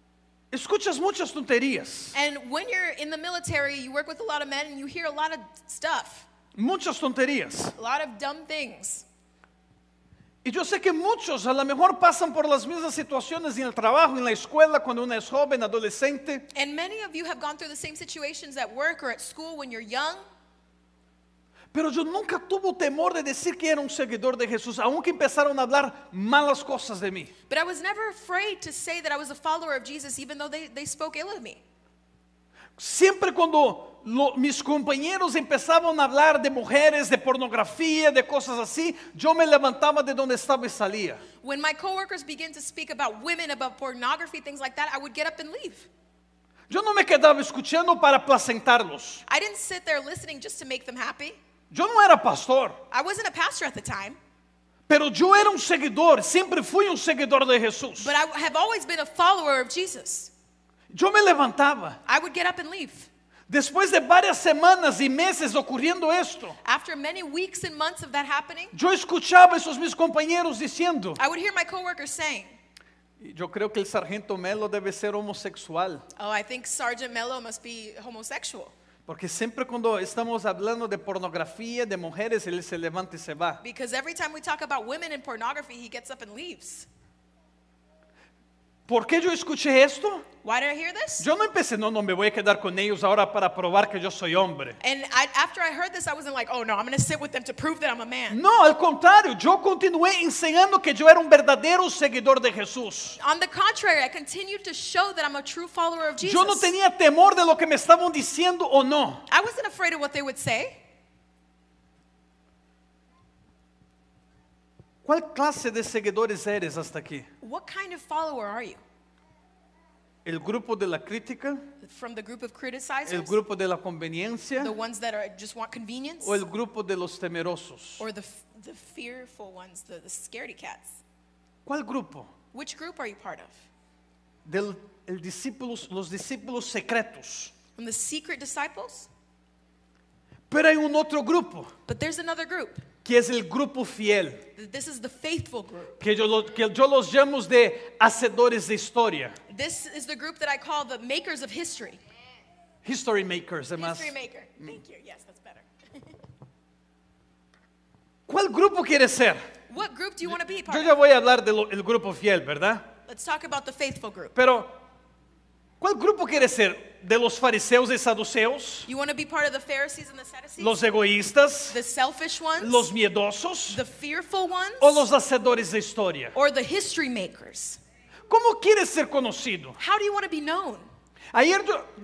escuchas muchas tonterías, And when you're in the military, you work with a lot of men and you hear a lot of stuff, muchas tonterías. a lot of dumb things. Y yo sé que muchos a lo mejor pasan por las mismas situaciones en el trabajo, en la escuela, cuando uno es joven, adolescente. And many of you have gone through the same situations at work or at school when you're young. Pero yo nunca tuve temor de decir que era un seguidor de Jesús, aunque empezaron a hablar malas cosas de mí. But I was never afraid to say that I was a follower of Jesus, even though they spoke ill of me. Siempre cuando mis compañeros empezaban a hablar de mujeres, de pornografía, de cosas así, yo me levantaba de donde estaba y salía. When my coworkers began to speak about women, about pornography, things like that, I would get up and leave. Yo no me quedaba escuchando para placentarlos. I didn't sit there listening just to make them happy. Yo no era pastor, I wasn't a pastor at the time, pero yo era un seguidor, siempre fui un seguidor de Jesús. but I have always been a follower of Jesus. Yo me levantaba. I would get up and leave. Después de varias semanas y meses ocurriendo esto, After many weeks and months of that happening, yo escuchaba a esos mis compañeros diciendo, I would hear my coworkers saying, yo creo que el sargento Melo debe ser homosexual, "Oh, I think Sergeant Mello must be homosexual." porque siempre cuando estamos hablando de pornografía, de mujeres, él se levanta y se va. Because every time we talk about women and pornography, he gets up and leaves. ¿Por qué yo escuché esto? Why did I hear this? Yo no empecé, no me voy a quedar con ellos ahora para probar que yo soy hombre. And after I heard this, I wasn't like, "Oh no, I'm going to sit with them to prove that I'm a man." No, al contrario, yo continué enseñando que yo era un verdadero seguidor de Jesús. On the contrary, I continued to show that I'm a true follower of Jesus. Yo no tenía temor de lo que me estaban diciendo o no. I wasn't afraid of what they would say. ¿Cuál clase de seguidores eres hasta aquí? What kind of follower are you? ¿El grupo de la crítica? From the group of ¿El criticizers? grupo de la conveniencia? The ones that just want convenience? ¿O el grupo de los temerosos? Or the fearful ones, the scaredy cats? ¿Cuál grupo? Which group are you part of? Los discípulos secretos. From the secret disciples? Pero hay un otro grupo, But there's another group. que es el grupo fiel, This is the faithful group. que yo los llamo de hacedores de historia. This is the group that I call the makers of history. History makers, además. History maker. Thank you. Yes, that's better. ¿Cuál grupo quieres ser? What group do you want to be part Yo of? ya voy a hablar del grupo fiel, ¿verdad? Let's talk about the faithful group. Pero, ¿cuál grupo quieres ser? ¿De los fariseos y saduceos? You want to be part of the Pharisees and the Sadducees? ¿Los egoístas? The selfish ones? ¿Los miedosos? The fearful ones? ¿O los hacedores de historia? Or the history makers? ¿Cómo quieres ser conocido? How do you want to be known? Ayer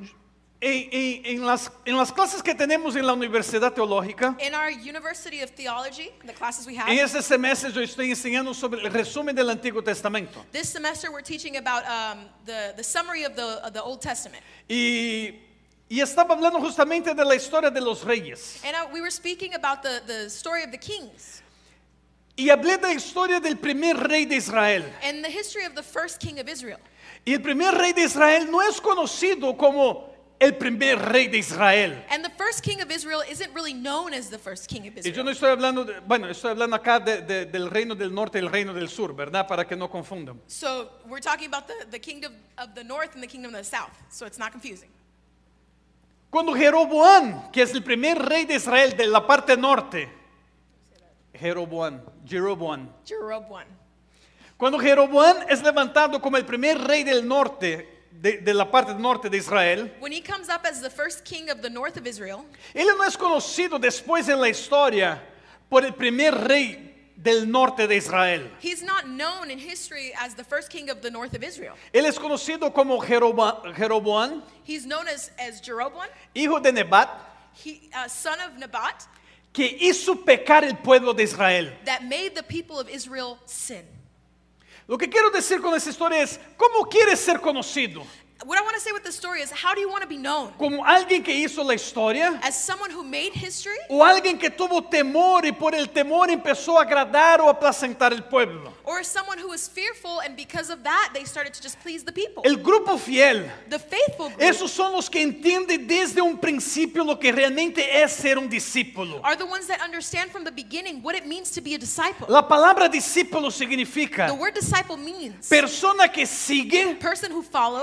en las clases que tenemos en la Universidad Teológica, In our University of Theology, the classes we have, en este semestre yo estoy enseñando sobre el resumen del Antiguo Testamento. this semester we're teaching about the summary of the Old Testament. Y estaba hablando justamente de la historia de los reyes. And we were speaking about the story of the kings Y hablé de la historia del primer rey de Israel. and the history of the first king of Israel. Y el primer rey de Israel no es conocido como el primer rey de Israel. And the first king of Israel isn't really known as the first king of Y yo Israel. no estoy hablando, estoy hablando acá del reino del norte y el reino del sur, ¿verdad? Para que no confundan. So we're talking about the kingdom of the north and the kingdom of the south. So it's not confusing. Cuando Jeroboam, que es el primer rey de Israel de la parte norte, Jeroboam. Jeroboam. Cuando Jeroboam es levantado como el primer rey del norte, de la parte norte de Israel, When he comes up as the first king of the north of Israel, él no es conocido después en la historia por el primer rey del norte de Israel. he's not known in history as the first king of the north of Israel. Él es conocido como Jeroboam, He's known as Jeroboam, hijo de Nebat, son of Nebat, que hizo pecar el pueblo de Israel. that made the people of Israel sin. Lo que quiero decir con esta historia es, ¿cómo quieres ser conocido? What I want to say with this story is, how do you want to be known? ¿Como alguien que hizo la historia? As someone who made history? ¿O alguien que tuvo temor y por el temor empezó a agradar o a aplacentar el pueblo? Or as someone who was fearful and because of that they started to just please the people? El grupo fiel, The faithful group esos son los que entienden desde un principio lo que realmente es ser un discípulo. are the ones that understand from the beginning what it means to be a disciple. La palabra discípulo significa The word disciple means persona que sigue person who follows y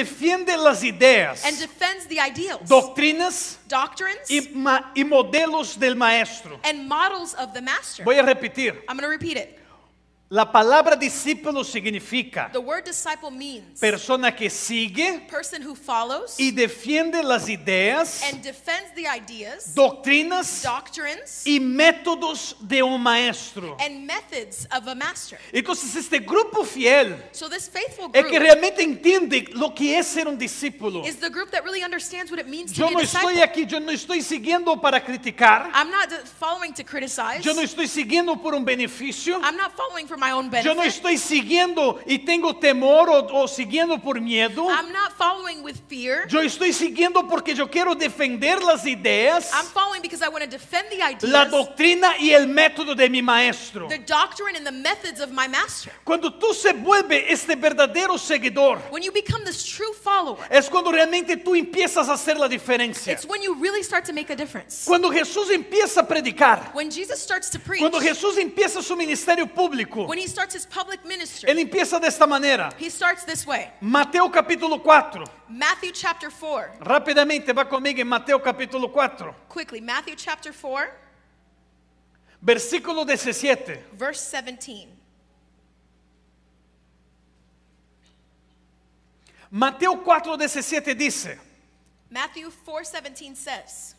defiende las ideas, and defends the ideals, doctrinas doctrines, y modelos del maestro. and models of the master. Voy a repetir. I'm going to repeat it. La palabra discípulo significa The word disciple means persona que sigue person who follows y defiende las ideas, and defends the ideas, doctrinas doctrines, y métodos de un maestro. and methods of a master. Entonces este grupo fiel So this faithful es que group realmente entiende lo que es ser un discípulo. is the group that really understands what it means to Yo be no a estoy disciple. aquí, yo no estoy siguiendo para criticar, I'm not following to criticize. yo no estoy siguiendo por un beneficio, I'm not following for my own yo no benefit. estoy siguiendo y tengo temor o siguiendo por miedo. I'm not following with fear. Yo estoy siguiendo porque yo quiero defender las ideas, I'm following because I want to defend the la ideas, doctrina y el método de mi maestro. the doctrine, and the methods of my master. Cuando tú se vuelve este verdadero seguidor, When you become this true follower, es cuando realmente tú empiezas a hacer la diferencia. it's when you really start to make a difference. Cuando Jesús empieza a predicar, When Jesus starts to preach, cuando Jesús empieza su ministerio público, when he starts his public ministry, él empieza de esta manera. he starts this way. Mateo capítulo 4. Matthew chapter 4. Rápidamente va conmigo en Mateo capítulo 4, Quickly, Matthew chapter 4, versículo 17. verse 17. Mateo 4:17 dice: Matthew 4:17 says,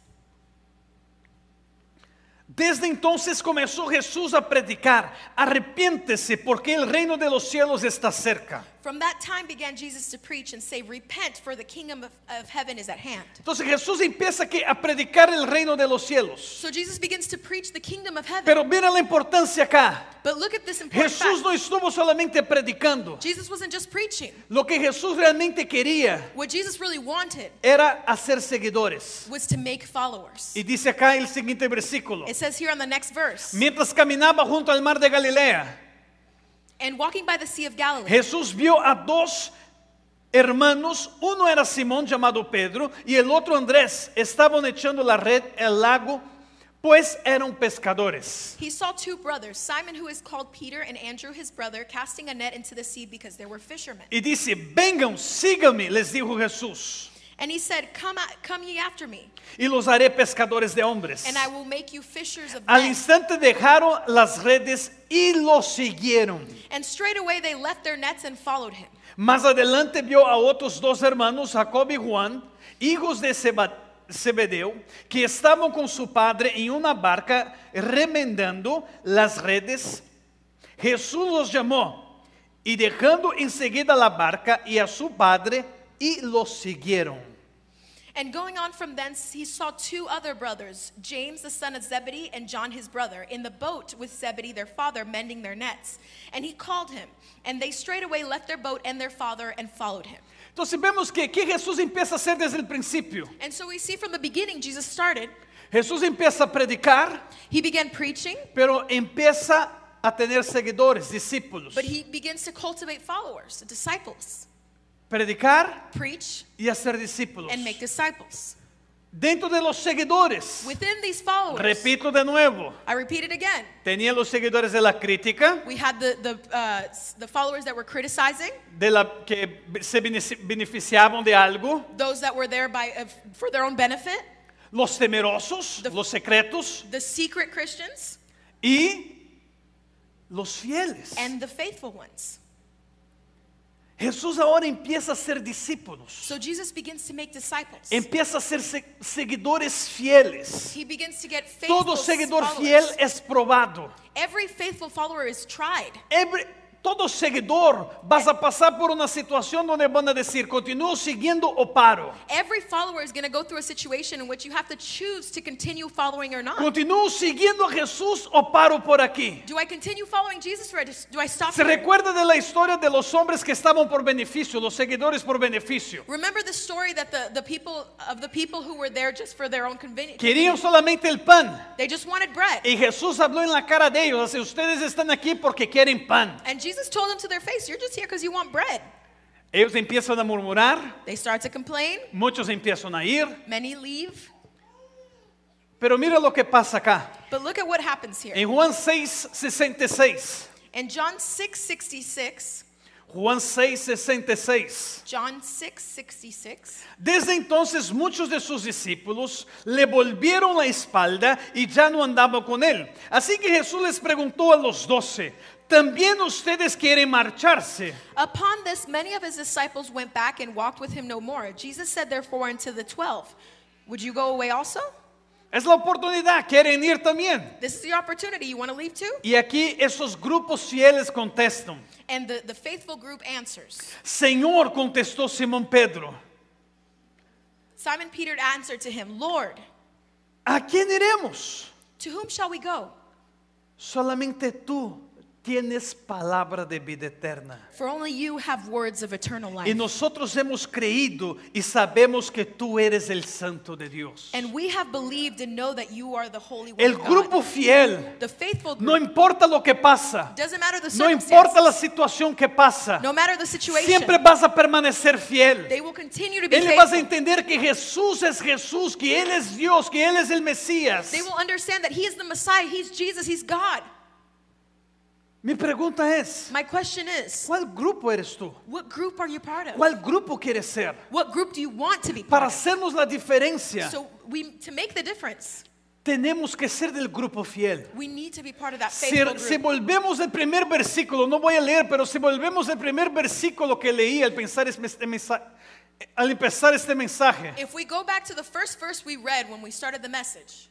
Desde entonces comenzó Jesús a predicar: arrepiéntese porque el reino de los cielos está cerca. from that time began Jesus to preach and say, repent, for the kingdom of heaven is at hand. Entonces Jesús empieza a predicar el reino de los cielos. So Jesus begins to preach the kingdom of heaven. Pero mira la importancia acá. But look at this important Jesús fact. no estuvo solamente predicando. Jesus wasn't just preaching. Lo que Jesús realmente quería What Jesus really wanted era hacer seguidores. was to make followers. Y dice acá el siguiente versículo: It says here on the next verse, mientras caminaba junto al mar de Galilea, and walking by the Sea of Galilee, Jesús vio a dos hermanos, uno era Simón llamado Pedro y el otro Andrés. Estaban echando la red al lago, pues eran pescadores. he saw two brothers, Simon, who is called Peter, and Andrew his brother, casting a net into the sea because they were fishermen. Y dice: vengan, síganme, les dijo Jesús, And he said, come ye after me, y los haré pescadores de hombres. and I will make you fishers of Al men. instante dejaron las redes y los siguieron. And straightway they left their nets and followed him. Más adelante vio a otros dos hermanos, Jacob y Juan, hijos de Zebedeo, que estaban con su padre en una barca remendando las redes. Jesús los llamó y dejando enseguida la barca y a su padre, y los siguieron. And going on from thence, he saw two other brothers, James the son of Zebedee and John his brother, in the boat with Zebedee their father, mending their nets. And he called him, and they straightway left their boat and their father and followed him. Entonces vemos que Jesús empieza a hacer desde el principio. And so we see from the beginning, Jesus started, Jesús empieza a predicar, he began preaching, pero empieza a tener seguidores, discípulos. but he begins to cultivate followers, disciples, Predicar preach, y hacer discípulos. and make disciples. Dentro de los seguidores, Within these followers, repito de nuevo, I repeat it again, tenía los seguidores de la crítica, we had the followers that were criticizing, de la que se beneficiaban de algo, those that were there for their own benefit, los temerosos, The- los secretos the secret Christians, y los fieles. and the faithful ones. Jesús ahora empieza a ser discípulos, So Jesus begins to make disciples. empieza a ser seguidores fieles. He begins to get faithful Todo seguidor followers. fiel es probado. Every faithful follower is tried. Todo seguidor vas a pasar por una situación donde van a decir: continúo siguiendo o paro. Every follower is going to go through a situation in which you have to choose to continue following or not. Continúo siguiendo a Jesús o paro por aquí. Do I continue following Jesus or do I stop Se here? recuerda de la historia de los hombres que estaban por beneficio, los seguidores por beneficio. Remember the story that the people who were there just for their own convenience. Querían solamente el pan. They just wanted bread. Y Jesús habló en la cara de ellos: así, ustedes están aquí porque quieren pan. And Jesus told them to their face, you're just here because you want bread. Ellos empiezan a murmurar, They start to complain. muchos empiezan a ir. Many leave. Pero mira lo que pasa acá. But look at what happens here. En Juan 6:66. In John 6:66, Juan 6:66. John 6:66. Desde entonces muchos de sus discípulos le volvieron la espalda y ya no andaban con él. Así que Jesús les preguntó a los 12, ¿también ustedes quieren marcharse? Upon this, many of his disciples went back and walked with him no more. Jesus said therefore unto the 12, would you go away also? Es la oportunidad, quieren ir también. This is the opportunity. You want to leave too? Y aquí esos grupos fieles contestan. And the faithful group answers. Señor, contestó Simón Pedro, Simon Peter answered to him, Lord, ¿a quién iremos? to whom shall we go? Solamente tú tienes palabra de vida eterna. For only you have words of eternal life. Y nosotros hemos creído y sabemos que tú eres el Santo de Dios. And we have believed and know that you are the Holy One El of grupo God. fiel, The faithful no group. importa lo que pasa, Doesn't matter the no importa la circumstances. situación que pasa, No matter the situation. siempre vas a permanecer fiel. They will continue to be Él vas a faithful. entender que Jesús es Jesús, que Él es Dios, que Él es el Mesías. They will understand that he is the Messiah. He's Jesus. He's God. Mi pregunta es, My question is, ¿cuál grupo eres tú? what group are you part of? ¿Cuál grupo quieres ser? What group do you want to be Para part of? hacernos la diferencia, So to make the difference, tenemos que ser del grupo fiel. we need to be part of that Si faithful group. volvemos al primer versículo, no voy a leer, pero si volvemos al primer versículo que leí al empezar este mensaje, If we go back to the first verse we read when we started the message,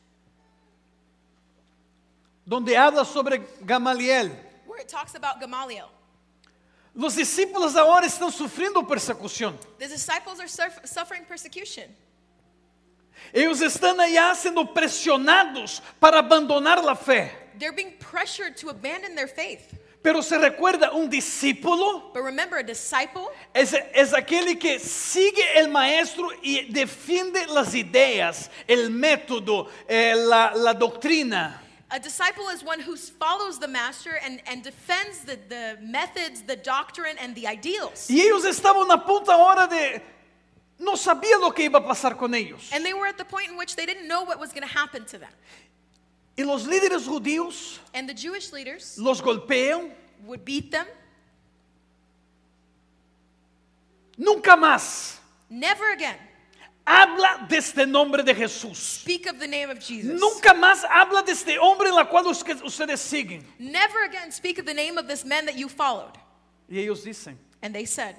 donde habla sobre Gamaliel, where it talks about Gamaliel, los discípulos ahora están sufriendo persecución. the disciples are suffering persecution. Ellos están allá siendo presionados para abandonar la fe. They're being pressured to abandon their faith. Pero se recuerda, un discípulo But remember, a disciple es aquel que sigue el maestro y defiende las ideas, el método, la doctrina. A disciple is one who follows the master and defends the methods, the doctrine, and the ideals. Y ellos estaban a punto ahora de... No sabía lo que iba a pasar con ellos. And they were at the point in which they didn't know what was going to happen to them. Y los líderes judíos And the Jewish leaders los golpean. would beat them. Nunca más Never again habla de este nombre de Jesús. speak of the name of Jesus. Nunca más habla de este hombre en la cual ustedes siguen. Never again speak of the name of this man that you followed. Y ellos dicen, And they said,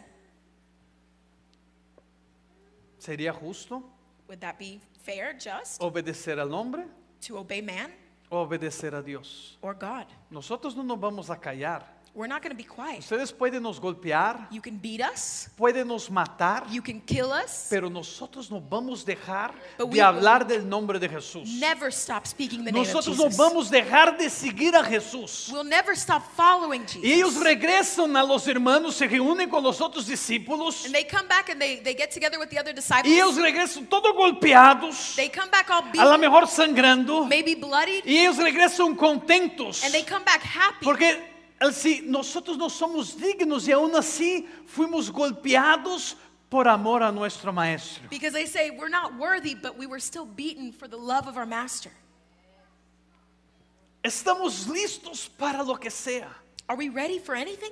¿sería justo would that be fair, just, obedecer al hombre to obey man o obedecer a Dios? or God? Nosotros no nos vamos a callar. We're not going to be quiet. Ustedes pueden nos golpear, You can beat us. pueden nos matar, You can kill us. pero nosotros no vamos a dejar But de we hablar del nombre de Jesús. Never stop speaking the name of Nosotros no Jesus. vamos a dejar de seguir a Jesús. We'll never stop following Y ellos Jesus. regresan a los hermanos, se reúnen con los otros discípulos. And they come back and they get together with the other disciples. Y ellos regresan todos golpeados, They come back all a lo beaten, mejor sangrando. maybe bloodied, Y ellos regresan contentos. and they come back happy. Porque si nosotros no somos dignos y aún así fuimos golpeados por amor a nuestro maestro. Because they say, we're not worthy, but we were still beaten for the love of our master. Estamos listos para lo que sea. Are we ready for anything?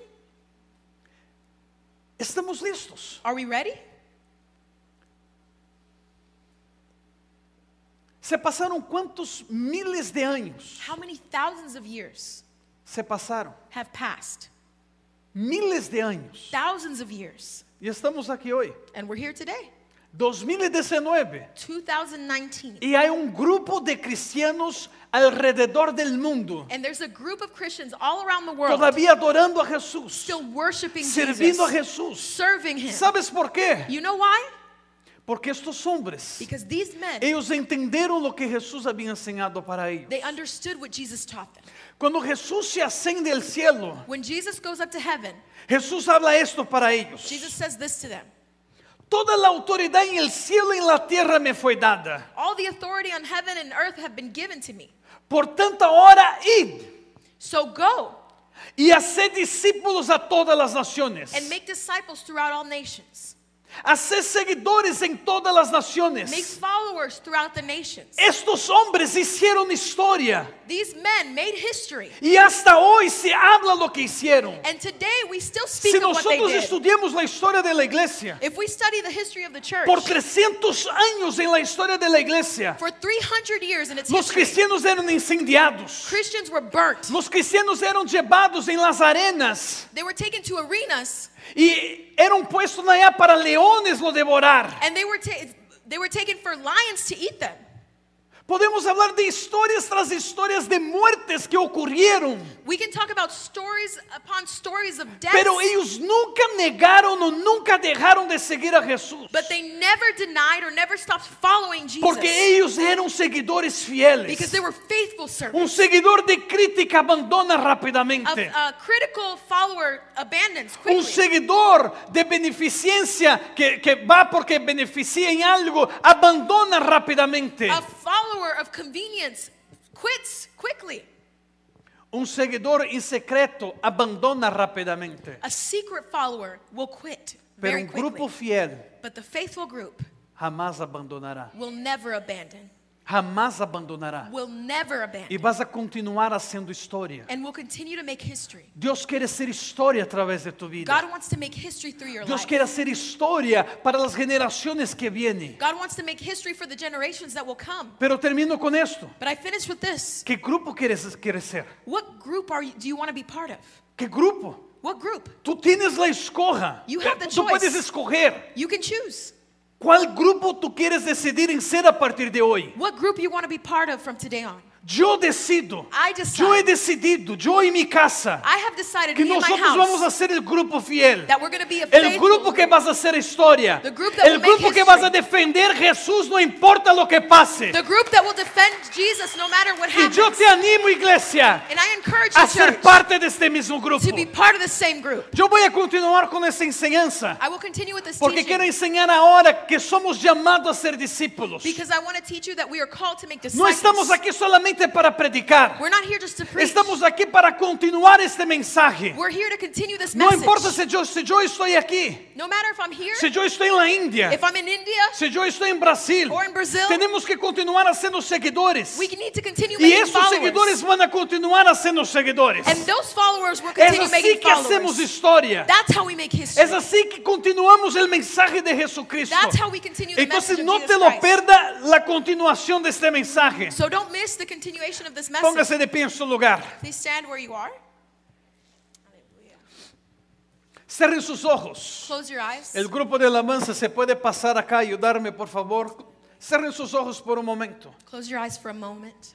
Estamos listos. Are we ready? Se pasaron cuántos miles de años. How many thousands of years Se pasaron have passed? miles de años. Thousands of years. Y estamos aquí hoy, And we're here today, 2019. 2019. Y hay un grupo de cristianos alrededor del mundo And there's a group of Christians all around the world todavía adorando a Jesús, still worshiping sirviendo a Jesus, Jesús. serving him. ¿Sabes por qué? You know why? Porque estos hombres, Because these men, ellos entendieron lo que Jesús había enseñado para ellos. they understood what Jesus taught them. Cuando Jesús se asciende al cielo, When Jesus goes up to heaven, Jesús habla esto para ellos. Jesus says this to them. Toda la autoridad en el cielo y en la tierra me fue dada. All the authority on heaven and earth have been given to me. Por tanto, ahora id So go y haced discípulos a todas las naciones, and make disciples throughout all nations, Hacer seguidores en todas las Make naciones. followers throughout the nations. Estos hombres hicieron historia. These men made history. Y hasta hoy se habla lo que hicieron. And today we still speak Si of what they nosotros did. estudiamos la historia de la iglesia, If we study the history of the church, por 300 años en la historia de la iglesia, for 300 years in its los history, cristianos eran incendiados. Christians were burnt. Los cristianos eran llevados en las arenas They were taken to arenas y eran puestos allá para leones lo devorar. and they were taken for lions to eat them. Podemos hablar de historias tras historias de muertes que ocurrieron, We can talk about stories upon stories of death, pero ellos nunca negaron o nunca dejaron de seguir a Jesús, but they never denied or never stopped following Jesus porque ellos eran seguidores fieles. because they were faithful Un servants. seguidor de crítica abandona A rápidamente. critical follower abandons Un quickly. seguidor de beneficencia que va porque beneficia en algo, abandona rápidamente. A follower of convenience quits quickly. Un seguidor en secreto abandona rápidamente. A secret follower will quit Pero very un grupo quickly. fiel But the faithful group jamás abandonará. will never abandon. Jamás abandonará. Will never Y abandon. vas a continuar haciendo historia. And will continue to make history. Dios quiere hacer historia a través de tu vida. God wants to make history through your Dios life. quiere hacer historia para las generaciones que vienen. God wants to make history for the generations that will come. Pero termino con esto. But I finish with this. ¿Qué grupo quieres ser? What group do you want to be part of? ¿Qué grupo? What group? Tú tienes la escoja. You have the Tú choice. puedes escoger You can choose. cuál grupo tú quieres decidir en ser a partir de hoy. What group you want to be part of from today on. Yo decido. I decide. Yo he decidido, yo y mi casa, I have decided que me and my nosotros vamos a house ser el grupo fiel. that we're going to be a El faithful grupo que group. vas a hacer historia. The group that El will make grupo que history. vas a defender Jesús no importa lo que pase. The group that will defend Jesus no matter what Y happens. yo te animo, iglesia, And I encourage a you, ser church, parte de este mismo grupo. to be part of the same group. Yo voy a continuar con esta enseñanza I will continue with this porque quiero teaching enseñar ahora que somos llamados a ser discípulos. because I want to teach you that we are called to make No estamos disciples. aquí solamente para predicar. We're not here just to preach. Estamos aquí para continuar este mensaje. We're here to continue this No message. importa si yo estoy aquí, No matter if I'm here, si yo estoy en la India, if I'm in India si yo estoy en Brasil. or in Brazil, Tenemos que continuar haciendo seguidores. we need to continue Y making esos seguidores followers. van a continuar haciendo seguidores. And those followers will Es continue así making que hacemos followers. historia. That's how we make history. Es así que continuamos el mensaje de Jesucristo. That's how we continue the Entonces message no of te Jesus lo Christ. pierda la continuación de este mensaje. So don't miss the continuation of this message. Póngase de pie en su lugar. Please stand where you are. Cierren sus ojos. Close your eyes. El grupo de alabanza se puede pasar acá y ayudarme, por favor. Cierren sus ojos por un momento. Close your eyes for a moment.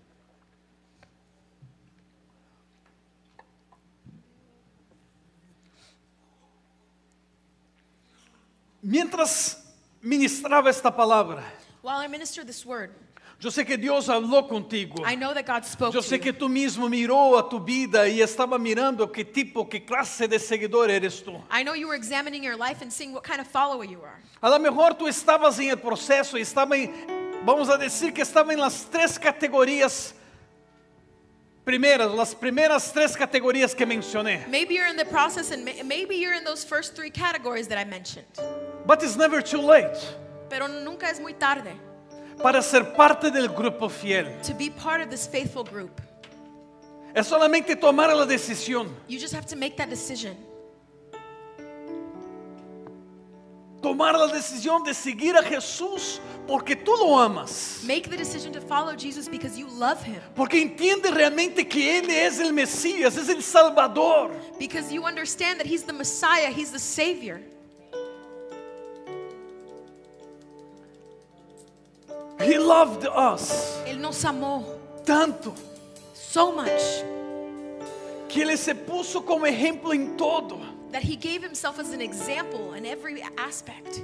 Mientras ministraba esta palabra, While I minister this word, yo sé que Dios habló contigo. I know that God spoke Yo to sé you. que tú mismo miró a tu vida y estaba mirando qué tipo, qué clase de seguidor eres tú. I know you were examining your life and seeing what kind of follower you are. A lo mejor tú estabas en el proceso y estaba en, vamos a decir que estaba en las tres categorías primeras, las primeras tres categorías que mencioné. Maybe you're in the process and maybe you're in those first three categories that I mentioned. But it's never too late Pero nunca es muy tarde para ser parte del grupo fiel. to be part of this faithful group. Es solamente tomar la decisión. You just have to make that decision. Tomar la decisión de seguir a Jesús porque tú lo amas. Make the decision to follow Jesus because you love him. Porque entiende realmente que Él es el Mesías, es el Salvador. Because you understand that he's the Messiah, he's the Savior. He loved us Él nos amó tanto so much que Ele se puso como ejemplo en todo. that he gave himself as an example in every aspect.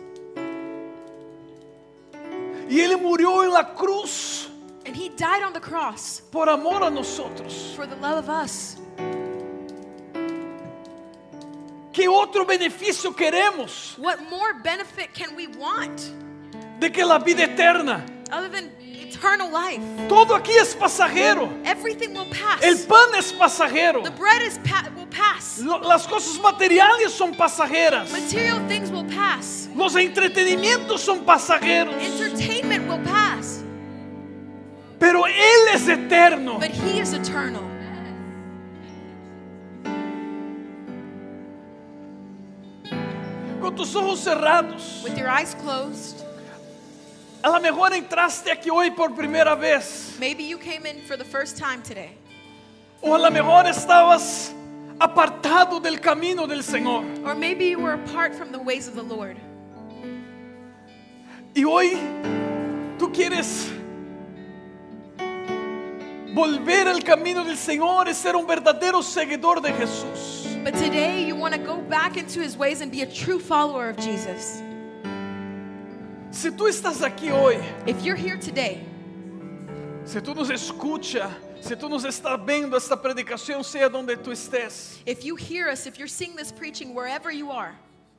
Y Él murió en la cruz And he died on the cross por amor a nosotros. for the love of us. ¿Qué otro beneficio queremos What more benefit can we want de que la vida eterna? other than eternal eternal life. Todo aquí es pasajero. Everything will pass. El pan es pasajero. The bread will pass. Las cosas materiales son pasajeras. Material things will pass. Los entretenimientos son pasajeros. Entertainment will pass. Pero Él es eterno. But He is eternal. Con tus ojos cerrados. With your eyes closed. A lo mejor entraste aquí hoy por primera vez. Maybe you came in for the first time today. O a lo mejor estabas apartado del camino del Señor. Or maybe you were apart from the ways of the Lord. Y hoy tú quieres volver al camino del Señor y ser un verdadero seguidor de Jesús. But today you want to go back into His ways and be a true follower of Jesus. Si tú estás aquí hoy, If you're here today, si tú nos escuchas, si tú nos estás viendo esta predicación, sea donde tú estés, if you hear us, if you're seeing this preaching wherever you are,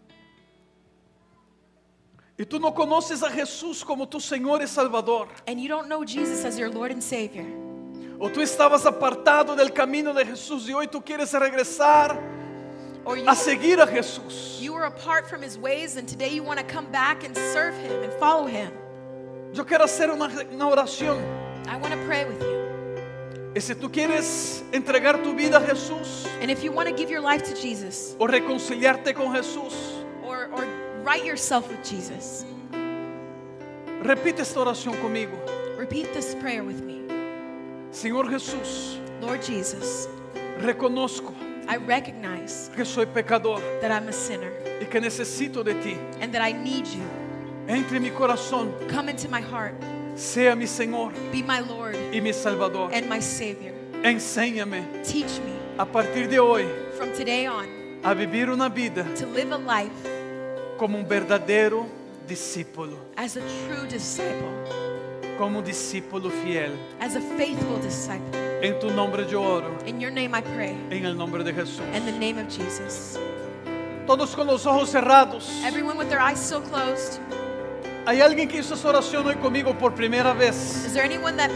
y tú no conoces a Jesús como tu Señor y Salvador, and you don't know Jesus as your Lord and Savior, o tú estabas apartado del camino de Jesús y hoy tú quieres regresar or a seguir a Jesús, you were apart from His ways and today you want to come back and serve Him and follow Him, yo quiero hacer una oración. I want to pray with you. Y si tú quieres entregar tu vida a Jesús And if you want to give your life to Jesus o reconciliarte con Jesús, or right yourself with Jesus, repite esta oración conmigo. repeat this prayer with me. Señor Jesús, Lord Jesus, reconozco I recognize que soy pecador that I'm a sinner y que necesito de ti. and that I need you. Entre en mi corazón, Come into my heart, sea mi Señor be my Lord y mi Salvador. and my Savior. Enséñame Teach me a partir de hoy from today on a vivir una vida to live a life como un verdadero discípulo, as a true disciple, como un discípulo fiel. as a faithful disciple. En tu nombre yo oro, In your name I pray, en el nombre de Jesús. in the name of Jesus. Todos con los ojos cerrados. Everyone with their eyes still closed. ¿Hay alguien que hizo esa oración hoy conmigo por primera vez? Is there anyone that